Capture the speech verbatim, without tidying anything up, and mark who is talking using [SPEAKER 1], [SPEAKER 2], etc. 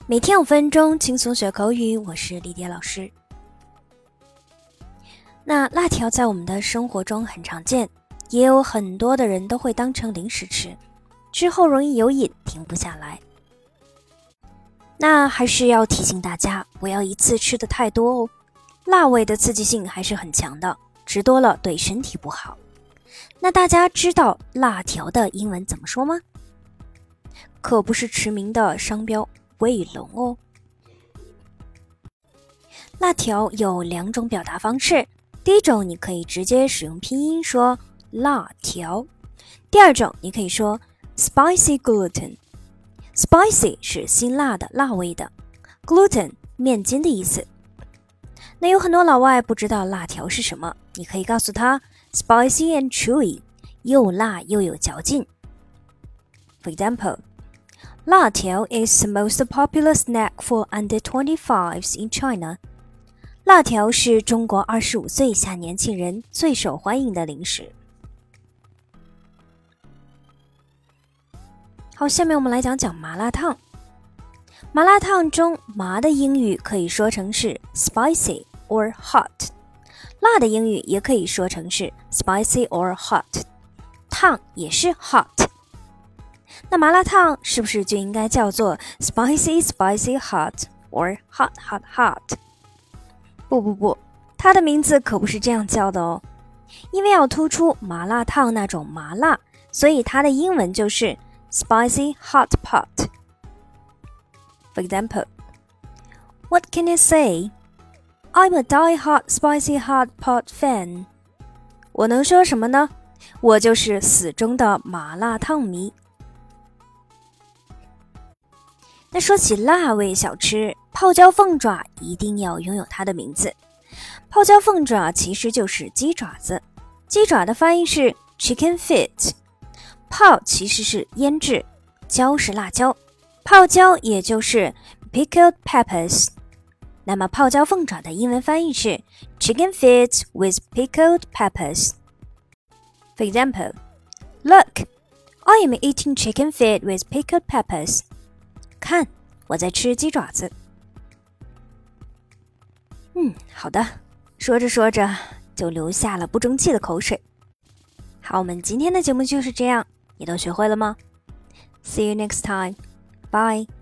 [SPEAKER 1] 每天五分钟轻松学口语，我是丽蝶老师。那辣条在我们的生活中很常见，也有很多的人都会当成零食吃，之后容易有瘾，停不下来。那还是要提醒大家，不要一次吃的太多哦，辣味的刺激性还是很强的，吃多了对身体不好。那大家知道辣条的英文怎么说吗？可不是驰名的商标卫龙哦。辣条有两种表达方式，第一种你可以直接使用拼音说辣条，第二种你可以说 spicy gluten。 spicy 是辛辣的辣味的， gluten 面筋的意思。那有很多老外不知道辣条是什么，你可以告诉他 spicy and chewy， 又辣又有嚼劲。 For example，辣条 is the most popular snack for under twenty-fives in China. 辣条是中国二十五岁以下年轻人最受欢迎的零食。好，下面我们来讲讲麻辣烫。麻辣烫中麻的英语可以说成是 spicy or hot， 辣的英语也可以说成是 spicy or hot， 烫也是 hot。那麻辣烫是不是就应该叫做 spicy spicy hot or hot hot hot？ 不不不，它的名字可不是这样叫的哦。因为要突出麻辣烫那种麻辣，所以它的英文就是 spicy hot pot。 For example, what can I say? I'm a die-hard spicy hot pot fan. 我能说什么呢？我就是死忠的麻辣烫迷。那说起辣味小吃，泡椒凤爪一定要拥有它的名字。泡椒凤爪其实就是鸡爪子，鸡爪的发音是 chicken feet， 泡其实是腌制，椒是辣椒，泡椒也就是 pickled peppers。 那么泡椒凤爪的英文翻译是 chicken feet with pickled peppers。 For example, look, I am eating chicken feet with pickled peppers。看，我在吃鸡爪子。嗯，好的，说着说着就流下了不争气的口水。好，我们今天的节目就是这样，你都学会了吗？ See you next time. Bye.